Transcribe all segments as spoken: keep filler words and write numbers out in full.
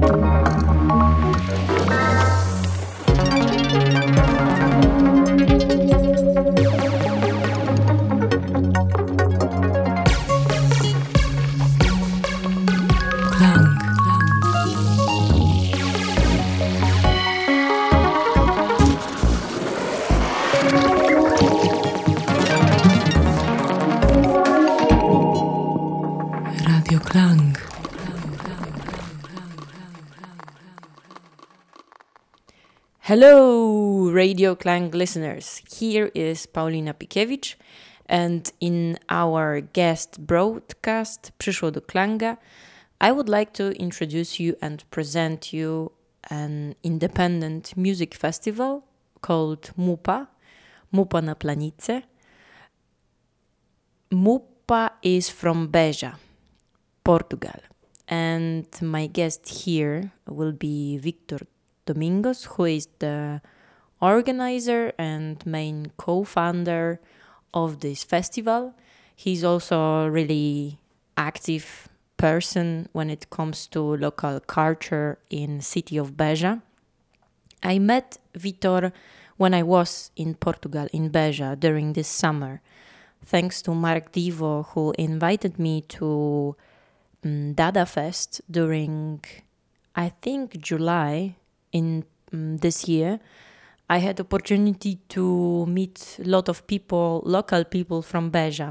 Hello, Radio Klang listeners. Here is Paulina Pikiewicz, and in our guest broadcast Przyszło do Klanga, I would like to introduce you and present you an independent music festival called MUPA, MUPA na Planice. MUPA is from Beja, Portugal, and my guest here will be Victor Domingos, who is the organizer and main co-founder of this festival. He's also a really active person when it comes to local culture in city of Beja. I met Vitor when I was in Portugal, in Beja, during this summer, thanks to Mark Divo, who invited me to um, Dada Fest during, I think, July. In um, this year, I had opportunity to meet a lot of people, local people from Beja.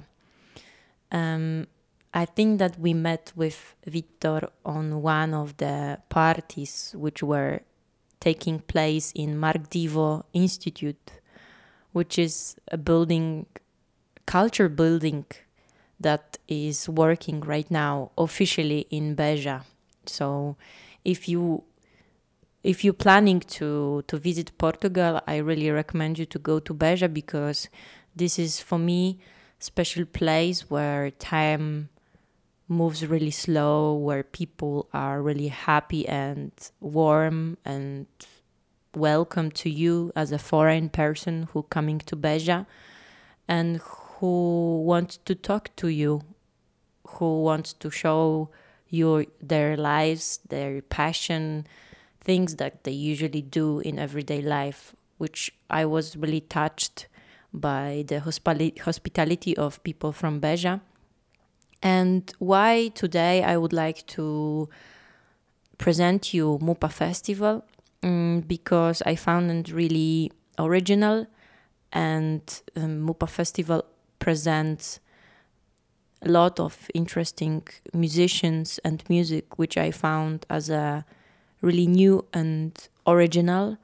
Um, I think that we met with Victor on one of the parties which were taking place in Mark Divo Institute, which is a building, culture building that is working right now officially in Beja. So if you If you're planning to, to visit Portugal, I really recommend you to go to Beja, because this is, for me, special place where time moves really slow, where people are really happy and warm and welcome to you as a foreign person who coming to Beja and who wants to talk to you, who wants to show you their lives, their passion, things that they usually do in everyday life, which I was really touched by the hospi- hospitality of people from Beja. And why today I would like to present you MUPA Festival, um, because I found it really original, and um, MUPA Festival presents a lot of interesting musicians and music, which I found as a really new and original.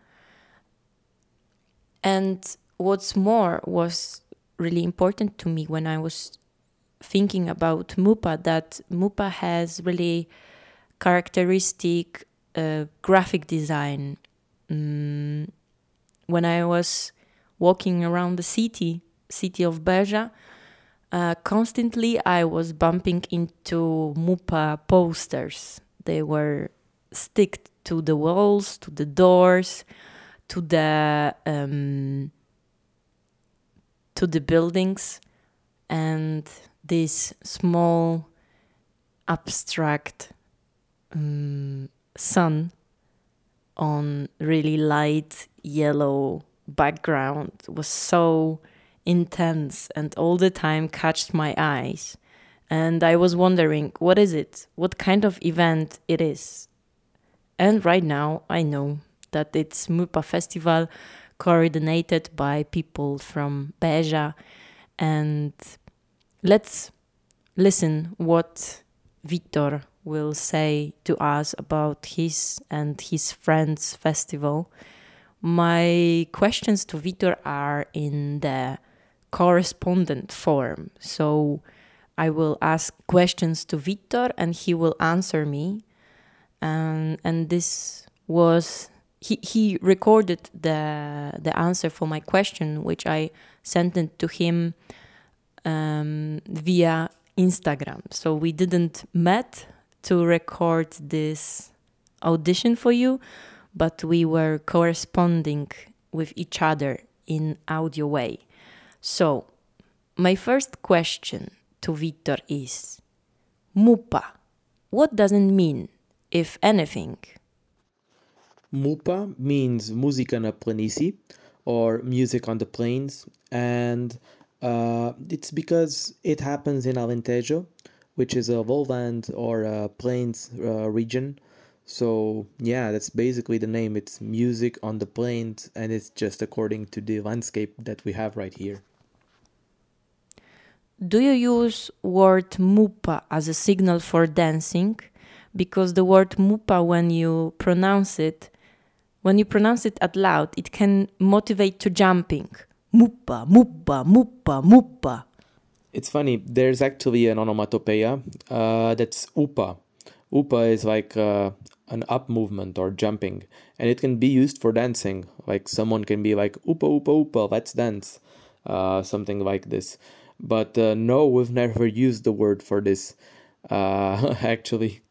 And what's more was really important to me when I was thinking about MUPA, that MUPA has really characteristic uh, graphic design. Mm, when I was walking around the city, city of Beja, uh, constantly I was bumping into MUPA posters. They were stick to the walls, to the doors, to the um, to the buildings, and this small abstract um, sun on really light yellow background was so intense and all the time catched my eyes, and I was wondering, what is it? What kind of event it is? And right now I know that it's MUPA Festival, coordinated by people from Beja. And let's listen what Victor will say to us about his and his friends' festival. My questions to Victor are in the correspondent form. So I will ask questions to Victor and he will answer me. Um, and this was, he, he recorded the the answer for my question, which I sent it to him um, via Instagram. So we didn't met to record this audition for you, but we were corresponding with each other in audio way. So my first question to Victor is, MUPA, what does it mean, if anything, Mupa means musica na planisi, or music on the plains, and uh, it's because it happens in Alentejo, which is a lowland or a plains uh, region. So yeah, that's basically the name. It's music on the plains, and it's just according to the landscape that we have right here. Do you use word mupa as a signal for dancing? Because the word mupa, when you pronounce it, when you pronounce it out loud, it can motivate to jumping. Mupa, mupa, mupa, mupa. It's funny, there's actually an onomatopoeia uh, that's upa. Upa is like uh, an up movement or jumping, and it can be used for dancing. Like someone can be like, upa, upa, upa, let's dance, uh, something like this. But uh, no, we've never used the word for this, uh, actually.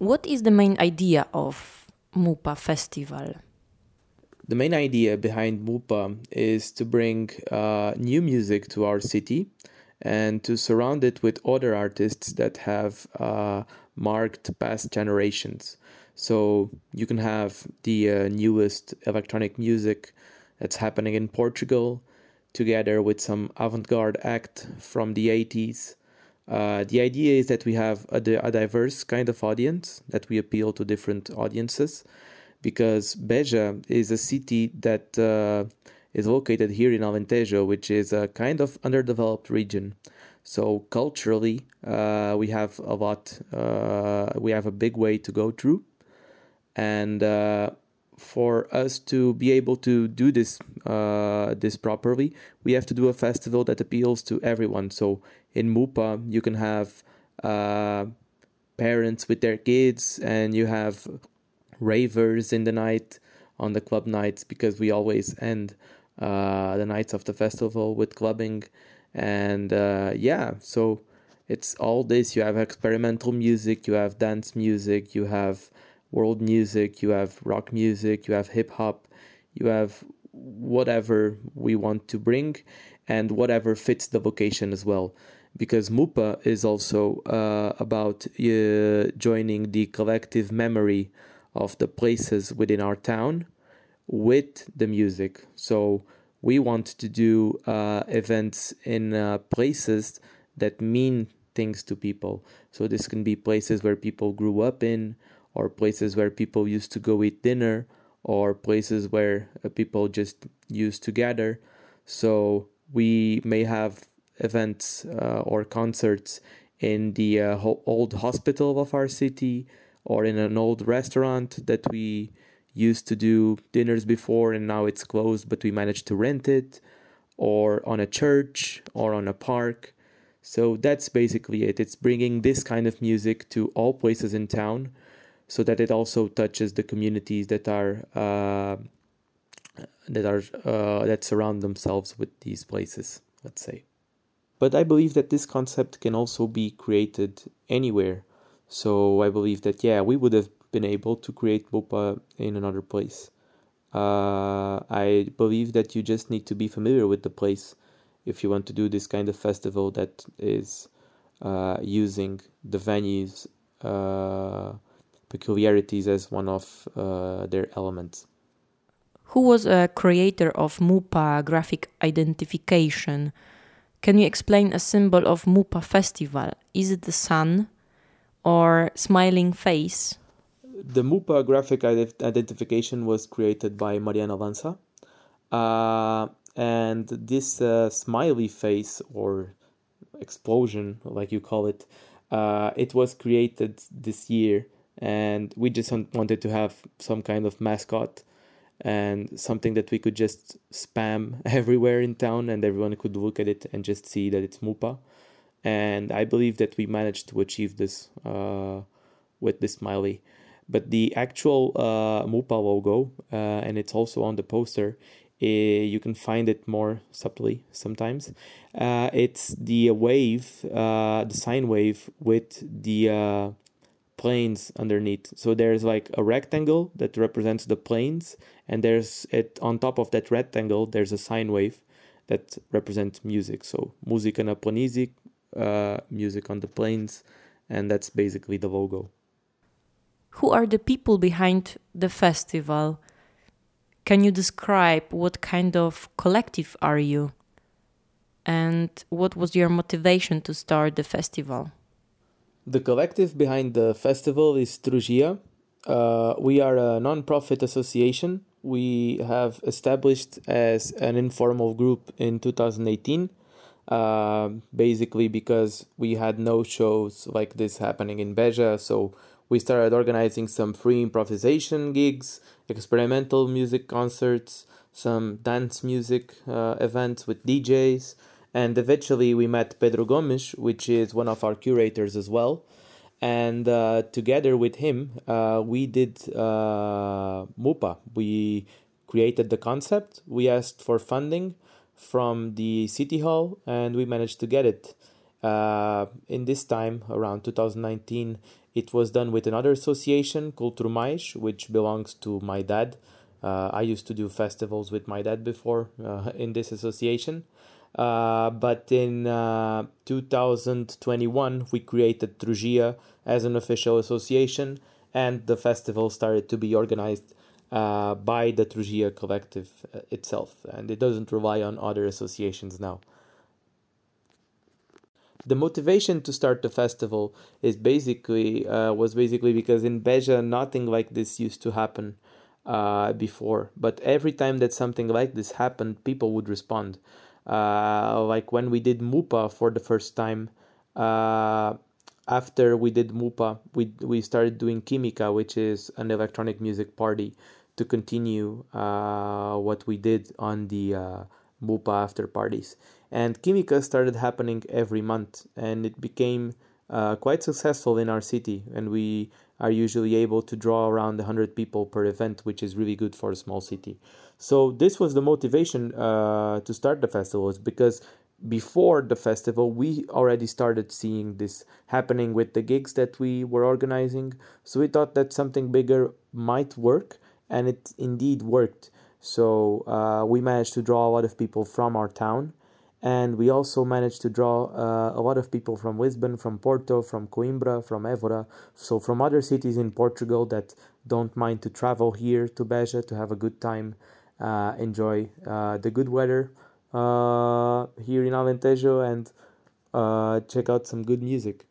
What is the main idea of Mupa Festival? The main idea behind Mupa is to bring uh, new music to our city and to surround it with other artists that have uh, marked past generations. So you can have the uh, newest electronic music that's happening in Portugal, together with some avant-garde act from the eighties. Uh, the idea is that we have a, a diverse kind of audience, that we appeal to different audiences, because Beja is a city that uh, is located here in Alentejo, which is a kind of underdeveloped region. So culturally, uh, we have a lot, uh, we have a big way to go through. And uh, for us to be able to do this uh, this properly, we have to do a festival that appeals to everyone. So in Mupa, you can have uh, parents with their kids, and you have ravers in the night on the club nights, because we always end uh, the nights of the festival with clubbing. And uh, yeah, so it's all this. You have experimental music, you have dance music, you have world music, you have rock music, you have hip hop, you have whatever we want to bring and whatever fits the vocation as well. Because Mupa is also uh, about uh, joining the collective memory of the places within our town with the music. So we want to do uh, events in uh, places that mean things to people. So this can be places where people grew up in, or places where people used to go eat dinner, or places where uh, people just used to gather. So we may have events uh, or concerts in the uh, ho- old hospital of our city, or in an old restaurant that we used to do dinners before and now it's closed, but we managed to rent it, or on a church or on a park. So that's basically it. It's bringing this kind of music to all places in town, so that it also touches the communities that are uh, that are uh, that surround themselves with these places, let's say. But I believe that this concept can also be created anywhere. So I believe that, yeah, we would have been able to create Mupa in another place. Uh, I believe that you just need to be familiar with the place if you want to do this kind of festival that is uh, using the venue's uh, peculiarities as one of uh, their elements. Who was a creator of Mupa graphic identification? Can you explain a symbol of Mupa Festival? Is it the sun or smiling face? The Mupa graphic identification was created by Mariana Lanza. Uh, and this uh, smiley face, or explosion, like you call it, uh, it was created this year. And we just wanted to have some kind of mascot and something that we could just spam everywhere in town, and everyone could look at it and just see that it's Mupa. And I believe that we managed to achieve this uh, with this smiley. But the actual uh, Mupa logo, uh, and it's also on the poster, uh, you can find it more subtly sometimes. Uh, it's the wave, uh, the sine wave with the uh, planes underneath. So there's like a rectangle that represents the planes, and there's it on top of that rectangle, there's a sine wave that represents music. So Música na Planície, uh, music on the plains, and that's basically the logo. Who are the people behind the festival? Can you describe what kind of collective are you? And what was your motivation to start the festival? The collective behind the festival is Strugia. Uh, we are a non-profit association. We have established as an informal group in two thousand eighteen, uh, basically because we had no shows like this happening in Beja, so we started organizing some free improvisation gigs, experimental music concerts, some dance music uh, events with D Js, and eventually we met Pedro Gomes, which is one of our curators as well. And uh, together with him, uh, we did uh, Mupa. We created the concept, we asked for funding from the City Hall, and we managed to get it. Uh, in this time, around two thousand nineteen, It was done with another association, Cultura Mais, which belongs to my dad. Uh, I used to do festivals with my dad before uh, in this association. Uh, but in uh, two thousand twenty-one, we created Trugia as an official association, and the festival started to be organized uh, by the Trugia collective uh, itself, and it doesn't rely on other associations now. The motivation to start the festival is basically uh, was basically because in Beja nothing like this used to happen uh, before, but every time that something like this happened, people would respond. Uh, like when we did Mupa for the first time, uh, after we did Mupa, we we started doing Química, which is an electronic music party, to continue uh, what we did on the uh, Mupa after parties. And Química started happening every month, and it became uh, quite successful in our city, and we are usually able to draw around one hundred people per event, which is really good for a small city. So this was the motivation uh, to start the festival, is because before the festival, we already started seeing this happening with the gigs that we were organizing. So we thought that something bigger might work, and it indeed worked. So uh, we managed to draw a lot of people from our town, and we also managed to draw uh, a lot of people from Lisbon, from Porto, from Coimbra, from Évora, so from other cities in Portugal that don't mind to travel here to Beja to have a good time, uh, enjoy uh, the good weather uh, here in Alentejo, and uh, check out some good music.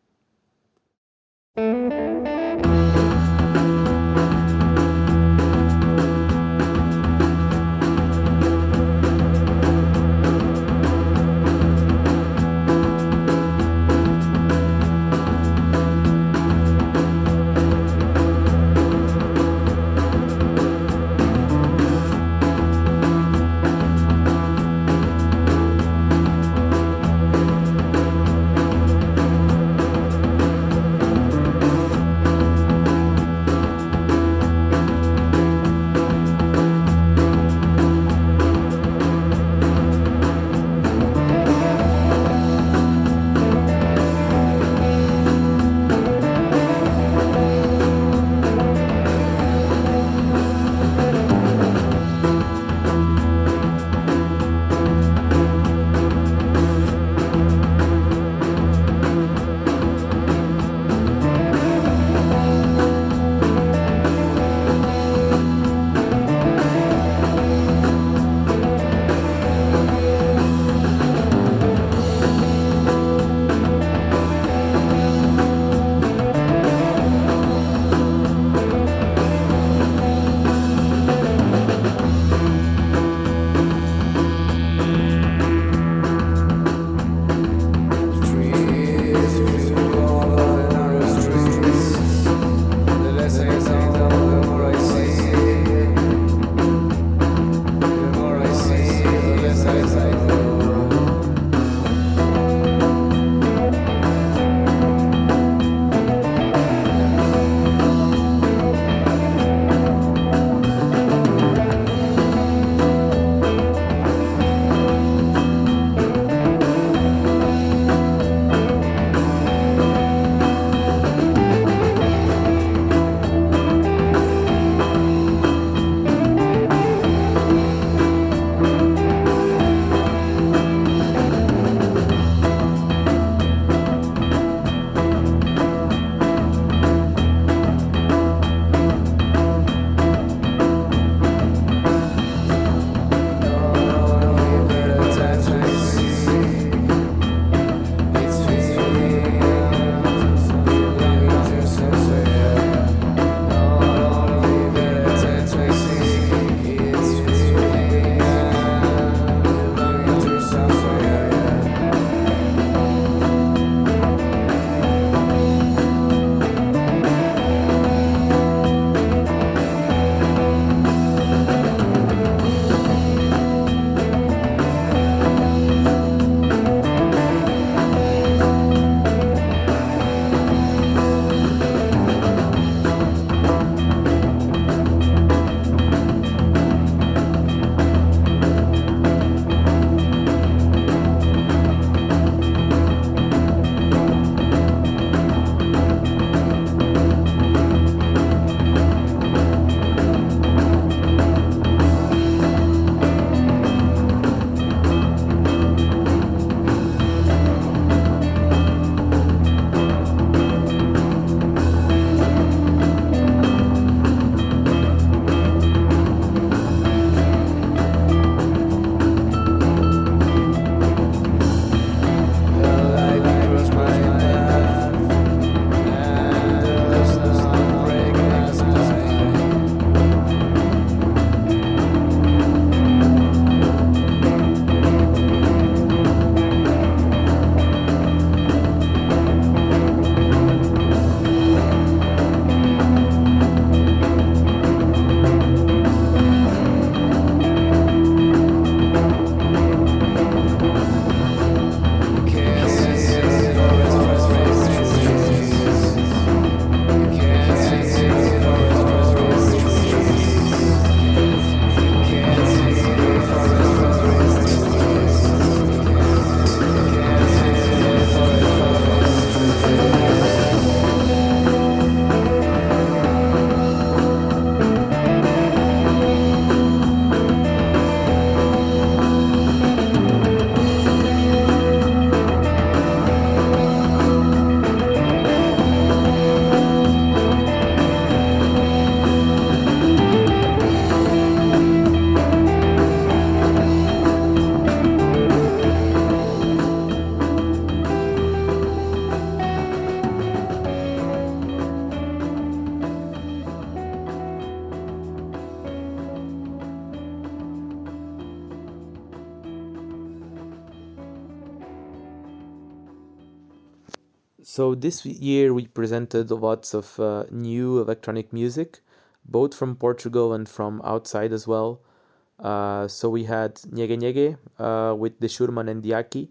So this year we presented lots of uh, new electronic music, both from Portugal and from outside as well. Uh, so we had Nyege Nyege uh, with the Shurman and the Aki.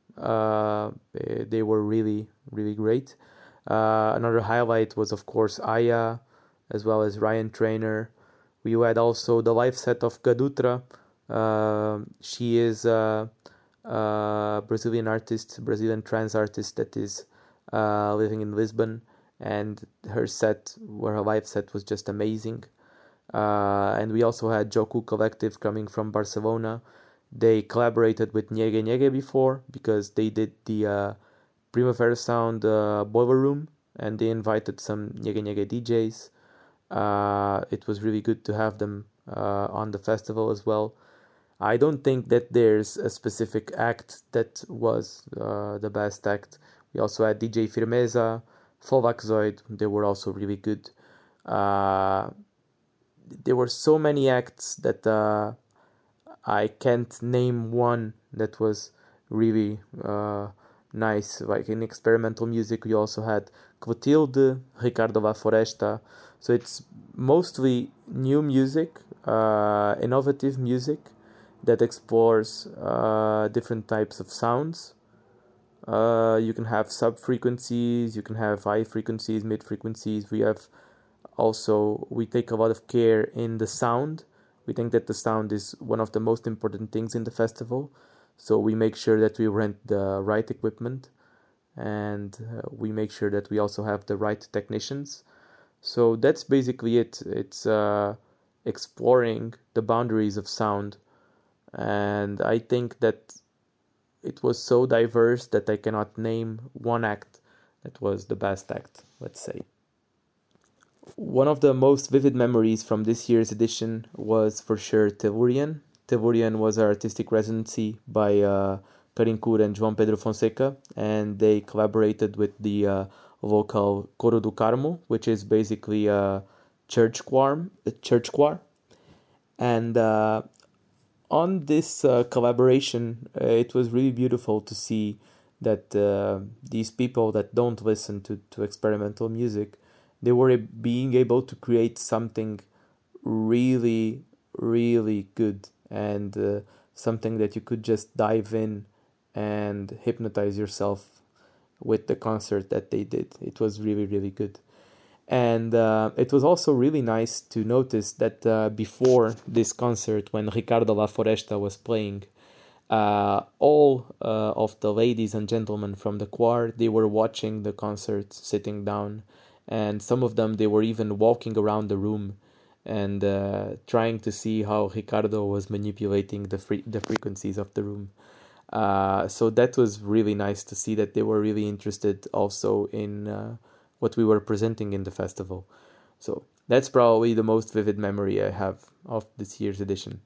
Uh, they, they were really, really great. Uh, another highlight was, of course, Aya, as well as Ryan Trainer. We had also the live set of Gadutra. Uh, she is a, a Brazilian artist, Brazilian trance artist that is uh, living in Lisbon, and her set, her live set was just amazing. Uh, and we also had Joku Collective coming from Barcelona. They collaborated with Nyege Nyege before because they did the uh, Primavera Sound uh, Boiler Room, and they invited some Nyege Nyege D Js. Uh, it was really good to have them uh, on the festival as well. I don't think that there's a specific act that was uh, the best act. We also had D J Firmeza, Volvaxoid. They were also really good. Uh, there were so many acts that uh, I can't name one that was really uh, nice. Like in experimental music, we also had Clotilde, Ricardo La Foresta. So it's mostly new music, uh, innovative music that explores uh, different types of sounds. Uh, you can have sub frequencies, you can have high frequencies, mid frequencies. We have also, we take a lot of care in the sound. We think that the sound is one of the most important things in the festival. So we make sure that we rent the right equipment, and uh, we make sure that we also have the right technicians. So that's basically it. It's uh, exploring the boundaries of sound. And I think that it was so diverse that I cannot name one act that was the best act, let's say. One of the most vivid memories from this year's edition was for sure Tellurian. Tellurian was an artistic residency by uh, Karin Kur and João Pedro Fonseca, and they collaborated with the uh, local Coro do Carmo, which is basically a church choir. A church choir. And uh, on this uh, collaboration, uh, it was really beautiful to see that uh, these people that don't listen to, to experimental music, they were being able to create something really, really good, and uh, something that you could just dive in and hypnotize yourself with the concert that they did. It was really, really good. And uh, it was also really nice to notice that uh, before this concert, when Ricardo La Foresta was playing, uh, all uh, of the ladies and gentlemen from the choir, they were watching the concert, sitting down, and some of them, they were even walking around the room and uh, trying to see how Ricardo was manipulating the free- the frequencies of the room. Uh, so that was really nice to see that they were really interested also in uh, what we were presenting in the festival. So that's probably the most vivid memory I have of this year's edition.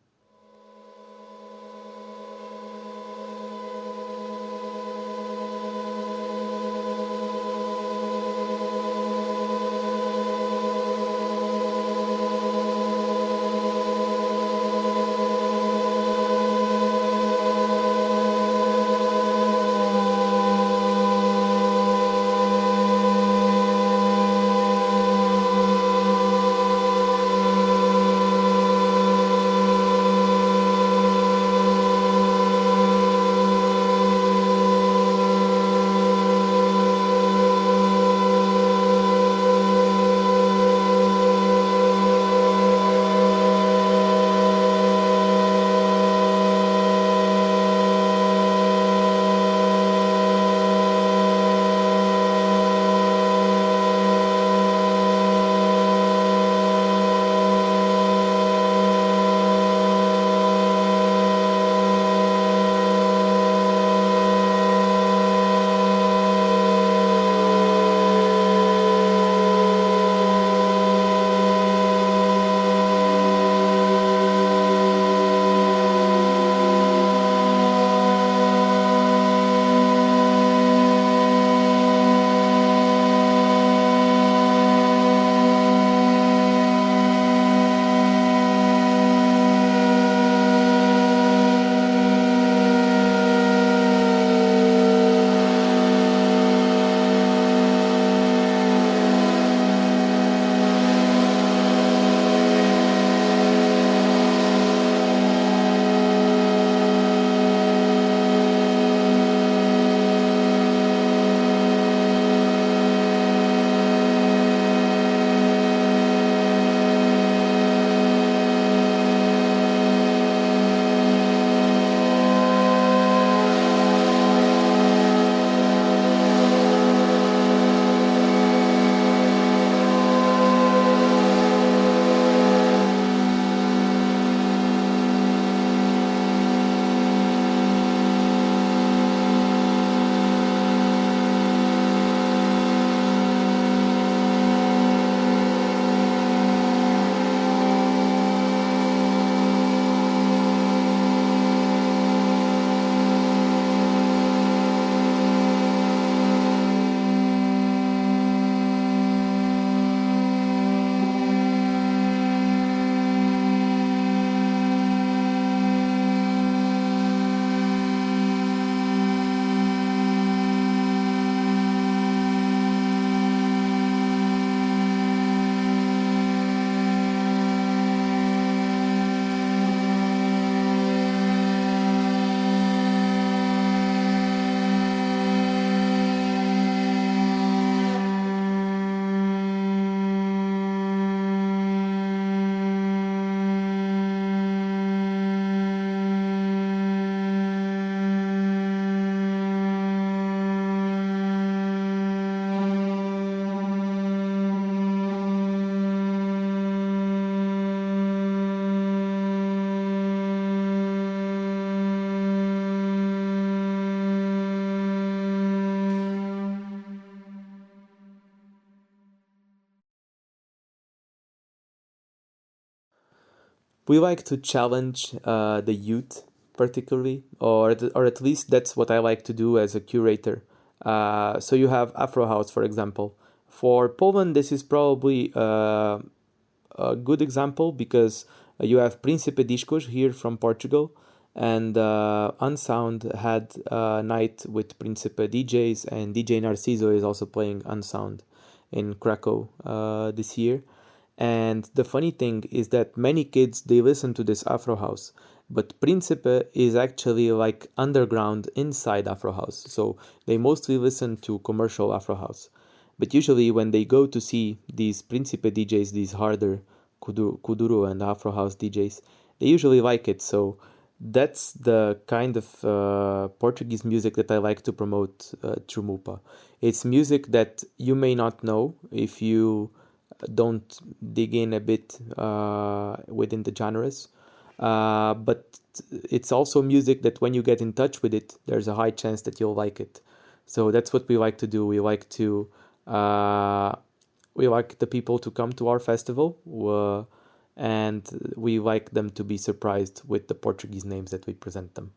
we like to challenge uh, the youth particularly, or th- or at least that's what I like to do as a curator. Uh, so you have Afro House, for example. For Poland, this is probably uh, a good example because you have Príncipe Discos here from Portugal, and uh, Unsound had a night with Príncipe D Js, and D J Narciso is also playing Unsound in Krakow uh, this year. And the funny thing is that many kids, they listen to this Afro House, but Príncipe is actually like underground inside Afro House. So they mostly listen to commercial Afro House. But usually when they go to see these Príncipe D Js, these harder Kuduro, Kuduro and Afro House D Js, they usually like it. So that's the kind of uh, Portuguese music that I like to promote uh, through Mupa. It's music that you may not know if you don't dig in a bit uh, within the genres. Uh, but it's also music that when you get in touch with it, there's a high chance that you'll like it. So that's what we like to do. We like to uh, we like the people to come to our festival, uh, and we like them to be surprised with the Portuguese names that we present them.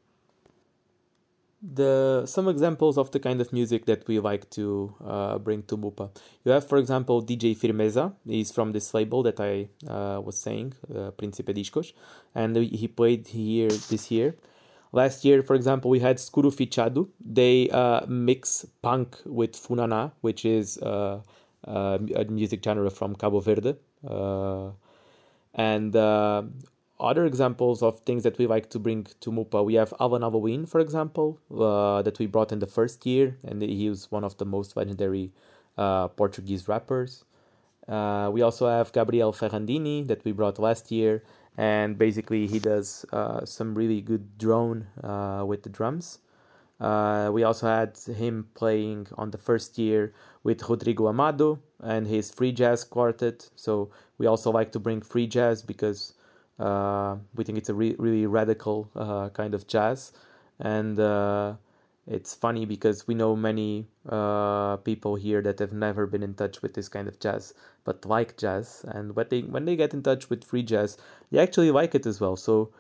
The some examples of the kind of music that we like to uh, bring to Mupa. You have, for example, D J Firmeza. He's from this label that I uh, was saying, uh, Príncipe Discos, and he played here this year. Last year, for example, we had Scuro Fichado. They uh, mix punk with Funaná, which is uh, uh, a music genre from Cabo Verde. Uh, and uh, other examples of things that we like to bring to Mupa, we have Alvan Halloween, for example, uh, that we brought in the first year, and he was one of the most legendary uh, Portuguese rappers. Uh, we also have Gabriel Ferrandini that we brought last year, and basically he does uh, some really good drone uh, with the drums. Uh, we also had him playing on the first year with Rodrigo Amado and his free jazz quartet. So we also like to bring free jazz because uh, we think it's a re- really radical uh, kind of jazz. And uh, it's funny because we know many uh, people here that have never been in touch with this kind of jazz, but like jazz. And when they, when they get in touch with free jazz, they actually like it as well. So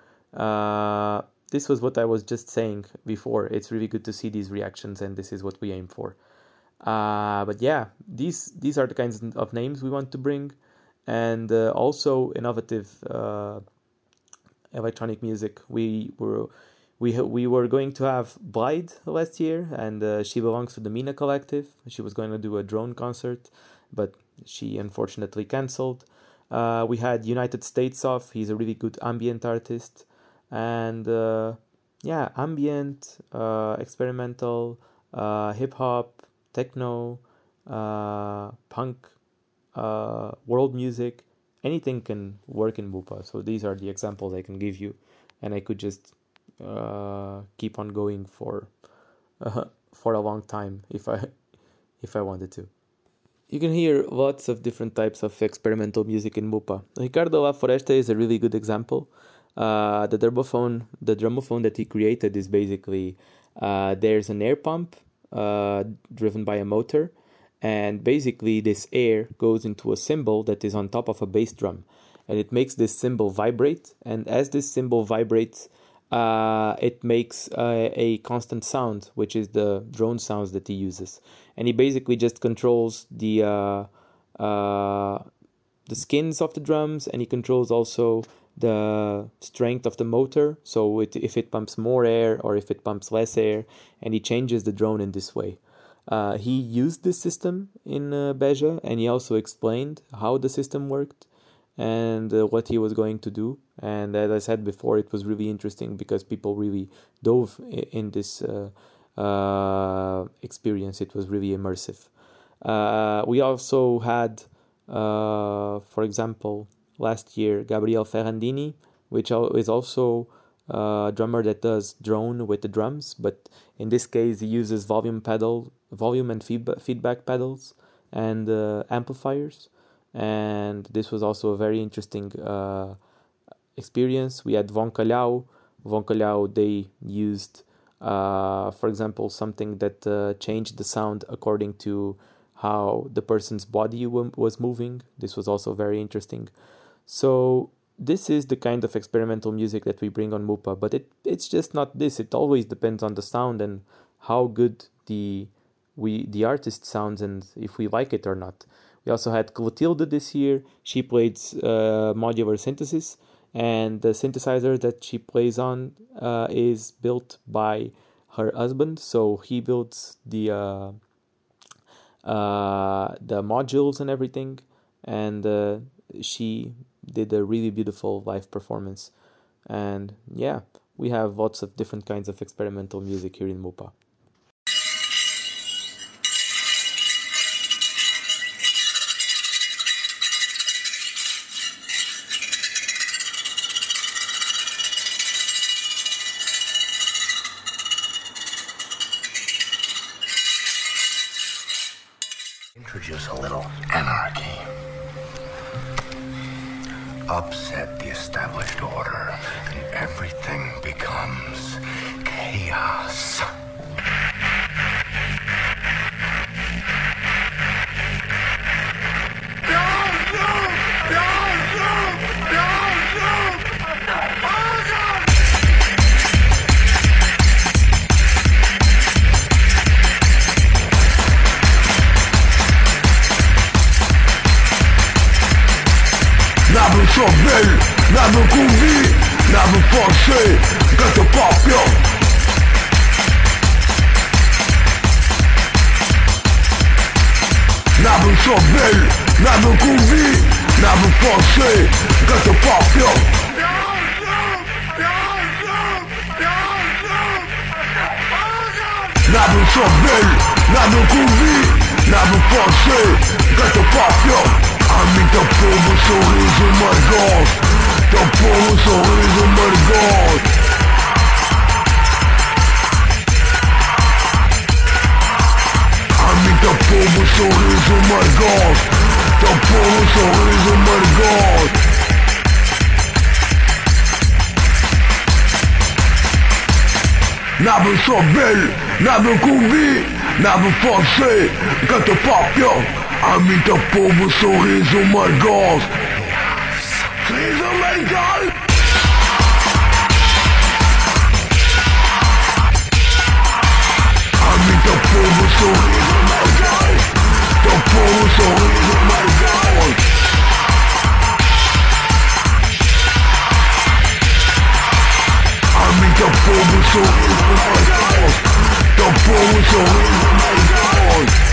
uh, this was what I was just saying before. It's really good to see these reactions, and this is what we aim for. Uh, but yeah, these these are the kinds of names we want to bring, and uh, also innovative uh, electronic music. We were we we were going to have Blythe last year, and uh, she belongs to the Mina Collective. She was going to do a drone concert, but she unfortunately cancelled. Uh, we had United States of. He's a really good ambient artist, and uh, yeah, ambient, uh, experimental, uh, hip hop, techno, uh, punk, uh, world music. Anything can work in Mupa. So these are the examples I can give you, and I could just uh, keep on going for uh, for a long time if I if I wanted to. You can hear lots of different types of experimental music in Mupa. Ricardo La Foresta is a really good example. Uh, the drumophone, the drumophone that he created is basically uh, there's an air pump uh, driven by a motor, and basically this air goes into a cymbal that is on top of a bass drum, and it makes this cymbal vibrate. And as this cymbal vibrates, uh, it makes uh, a constant sound, which is the drone sounds that he uses. And he basically just controls the uh, uh, the skins of the drums, and he controls also the strength of the motor. So it, if it pumps more air or if it pumps less air, and he changes the drone in this way. Uh, he used this system in uh, Beja, and he also explained how the system worked and uh, what he was going to do. And as I said before, it was really interesting because people really dove in this uh, uh, experience. It was really immersive. Uh, we also had, uh, for example, last year, Gabriel Ferrandini, which is also a drummer that does drone with the drums, but in this case he uses volume pedal, volume and feedback feedback pedals and uh, amplifiers. And this was also a very interesting uh, experience. We had Von Calhau. Von Calhau, they used, uh, for example, something that uh, changed the sound according to how the person's body w- was moving. This was also very interesting. So this is the kind of experimental music that we bring on Mupa, but it it's just not this. It always depends on the sound and how good the we the artist sounds and if we like it or not. We also had Clotilde this year. She played uh, modular synthesis, and the synthesizer that she plays on uh, is built by her husband. So he builds the uh, uh, the modules and everything, and uh, she did a really beautiful live performance. And yeah, we have lots of different kinds of experimental music here in Mupa. Introduce a little anarchy. Upset the established order, and everything becomes chaos. N'avons sauvé, n'avons convié, n'avons pensé que te papier. N'avons sauvé, n'avons convié, n'avons pensé que te papier. N'avons sauvé, n'avons convié, n'avons pensé que te papier. Ami, teu povo sorriso amargos, teu povo sorriso amargos. Ami, teu povo sorriso amargos, teu povo sorriso amargos. N'avons sauvé, n'avons convié, n'avons pensé que te papier. Ami, teu povo sorriso amargos. Sorriso amargos. Ami, teu povo sorriso amargos. Teu povo sorriso amargos. Ami, teu povo sorriso amargos. Teu povo sorriso amargos.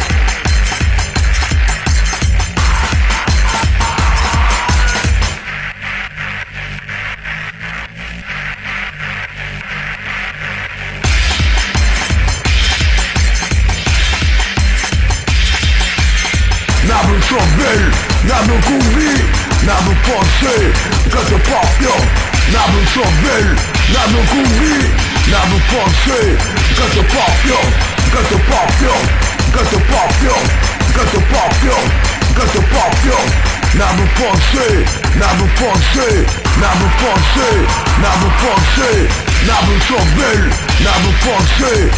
N'avons sauvé, n'avons convié, n'avons pensé que te papier. N'avons sauvé, n'avons convié, n'avons pensé que te papier, que te papier, que te papier, que te papier, que te papier. N'avons pensé, n'avons pensé, n'avons pensé, n'avons pensé, n'avons sauvé, n'avons pensé.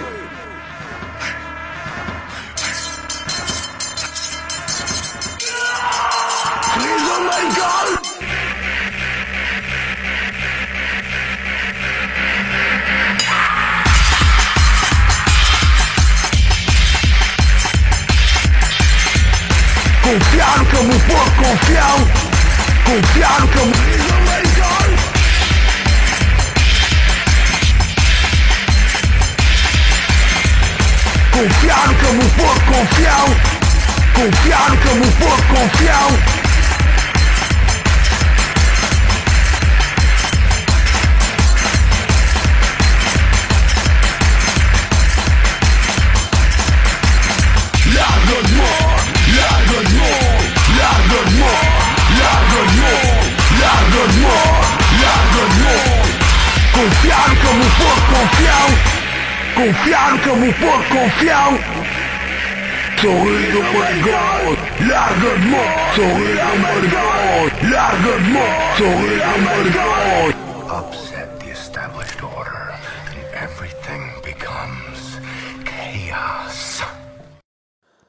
Confiar como por confiar, confiar como legal. Confiar como por confiar, confiar como por confiar. Largue-moi, largue-moi, largue-moi, largue-moi, largue-moi, largue-moi. Confiar como por confiar, confiar como por confiar. Sorriso amargado, largue-moi, sorriso amargado, largue-moi, sorriso amargado. Upset the established order, and everything becomes chaos.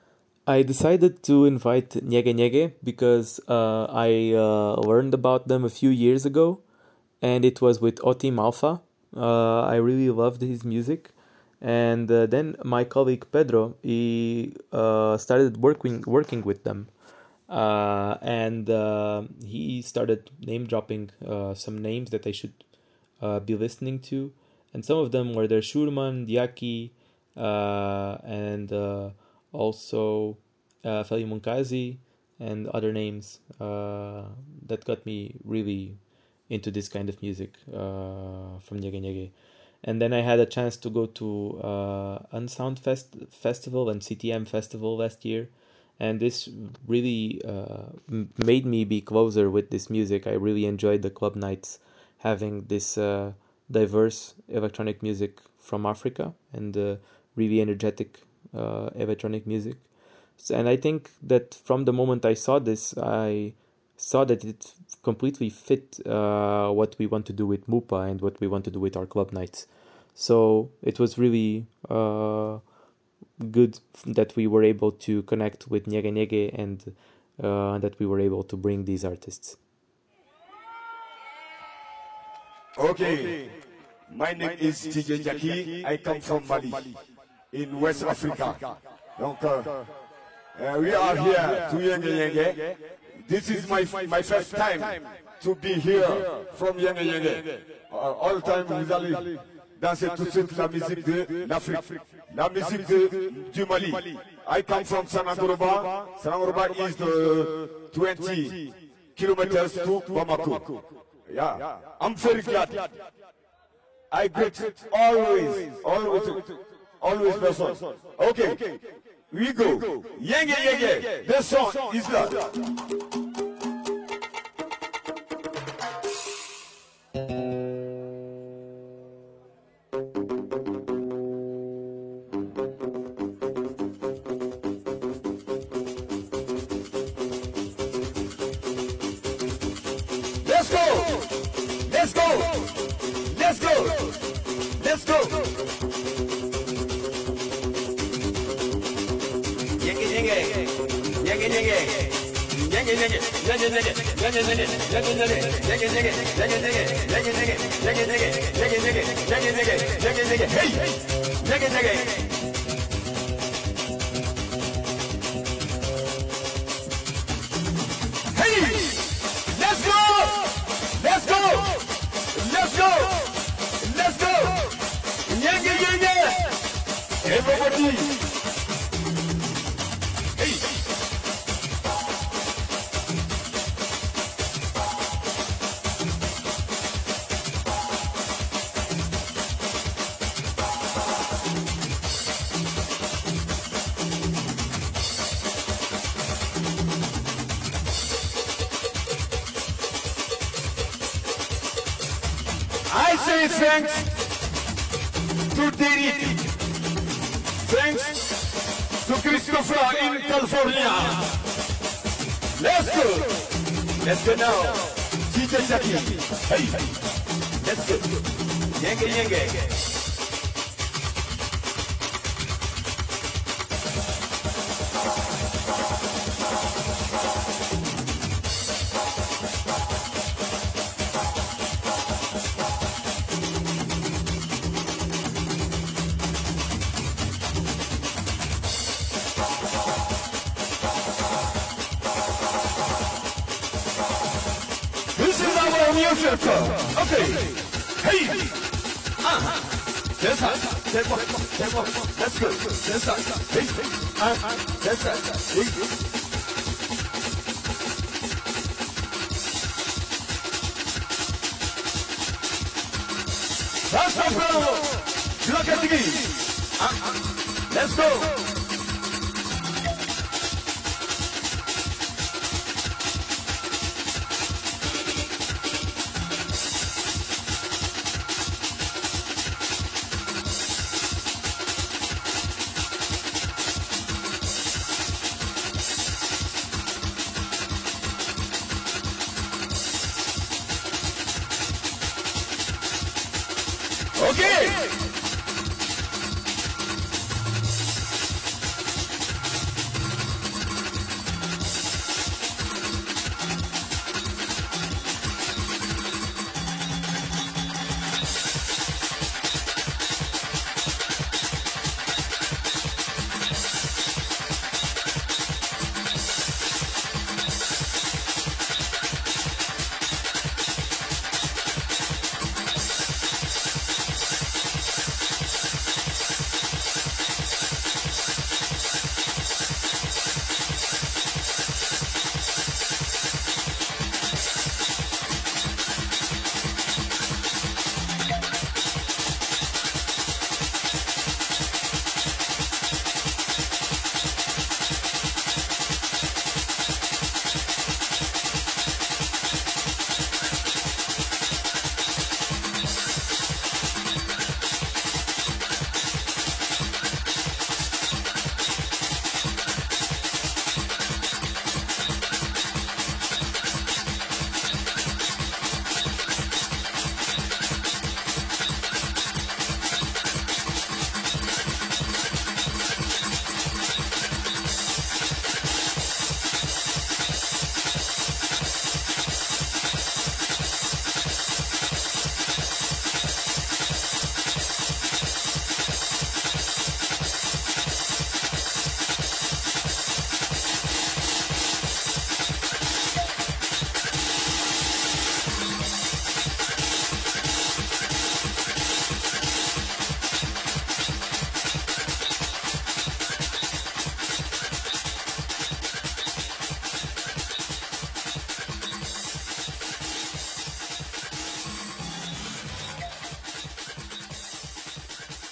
I decided to invite Nyege Nyege because uh, I uh, learned about them a few years ago, and it was with Otim Alpha. Uh, I really loved his music, and uh, then my colleague Pedro he uh, started working working with them, uh, and uh, he started name dropping uh, some names that I should uh, be listening to, and some of them were Der Schurman, Diaki, uh, and uh, also uh, Feli Munkazi and other names uh, that got me really into this kind of music uh, from Nyege Nyege. And then I had a chance to go to uh, Unsound Fest Festival and C T M Festival last year, and this really uh, m- made me be closer with this music. I really enjoyed the club nights, having this uh, diverse electronic music from Africa and uh, really energetic uh, electronic music. So, and I think that from the moment I saw this, I saw that it completely fit uh, what we want to do with Mupa and what we want to do with our club nights. So it was really uh, good that we were able to connect with Nyege Nyege and uh, that we were able to bring these artists. Okay, my name is T J Jackie. I come from Mali, in West Africa. Donc, uh, uh, we are here to Nyege Nyege. This is my my first time to be here from Nyege Nyege. Uh, all time vous allez danser tout de suite la musique de l'Afrique, la musique de, du Mali. I come from Sanangoroba. Sanangoroba is the twenty kilometers to Bamako. Yeah, I'm very glad. I greet always, always, always person. Okay, we go. Nyege Nyege. The song is that. Let's go! Let's go! Let's go! Let's go! Nyege Nyege, Nyege Nyege, Nyege Nyege, Nyege Nyege, Nyege Nyege, Nyege Nyege, Nyege Nyege, Nyege Nyege, Nyege Nyege, Nyege Nyege, Nyege Nyege, Nyege Nyege, Nyege Nyege, hey! Nyege Nyege. Hey! Let's go! Let's go! Let's go! Let's go! Nyege Nyege! Everybody! Hey! I say thanks to Derek. Thanks to Christopher in California. Let's go. Let's go now. D J Jackie. Hey. Let's go. Nyege Nyege. This is our music. Okay. Hey. Ah. That's right. That's right. That's right. That's good. That's right. Hey. Ah. That's right. Hey. That's right, bro. Look at the game. Ah. Let's go. Okay.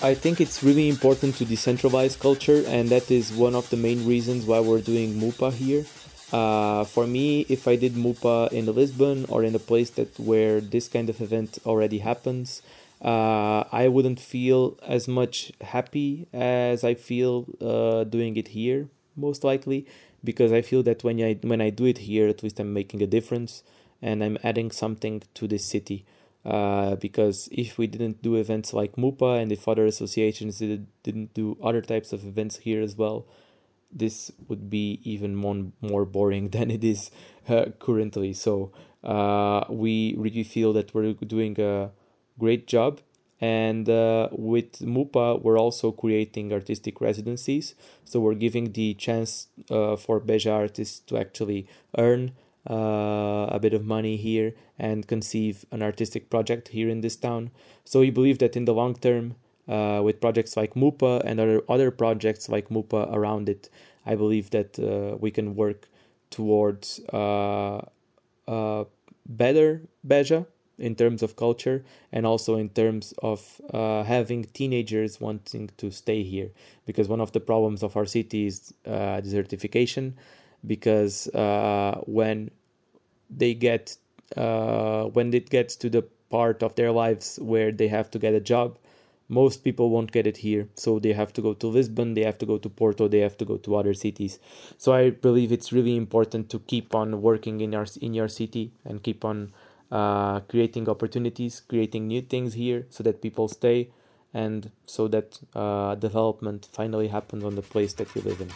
I think it's really important to decentralize culture, and that is one of the main reasons why we're doing MUPA here. Uh, for me, if I did MUPA in Lisbon or in a place that where this kind of event already happens, uh, I wouldn't feel as much happy as I feel uh, doing it here, most likely, because I feel that when I when I do it here, at least I'm making a difference and I'm adding something to this city. Uh, because if we didn't do events like MUPA and if other associations did, didn't do other types of events here as well, this would be even more, more boring than it is uh, currently. So uh, we really feel that we're doing a great job. And uh, with MUPA, we're also creating artistic residencies. So we're giving the chance uh, for Beja artists to actually earn uh, a bit of money here and conceive an artistic project here in this town. So we believe that in the long term, uh, with projects like MUPA and other, other projects like MUPA around it, I believe that uh, we can work towards uh, uh, better Beja in terms of culture and also in terms of uh, having teenagers wanting to stay here. Because one of the problems of our city is uh, desertification, because uh, when they get uh, when it gets to the part of their lives where they have to get a job, most people won't get it here. So they have to go to Lisbon, they have to go to Porto, they have to go to other cities. So I believe it's really important to keep on working in our in your city and keep on uh, creating opportunities, creating new things here so that people stay and so that uh, development finally happens on the place that we live in.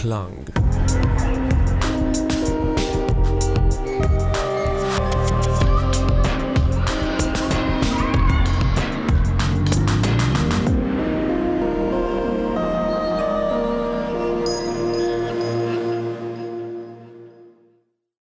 Klang.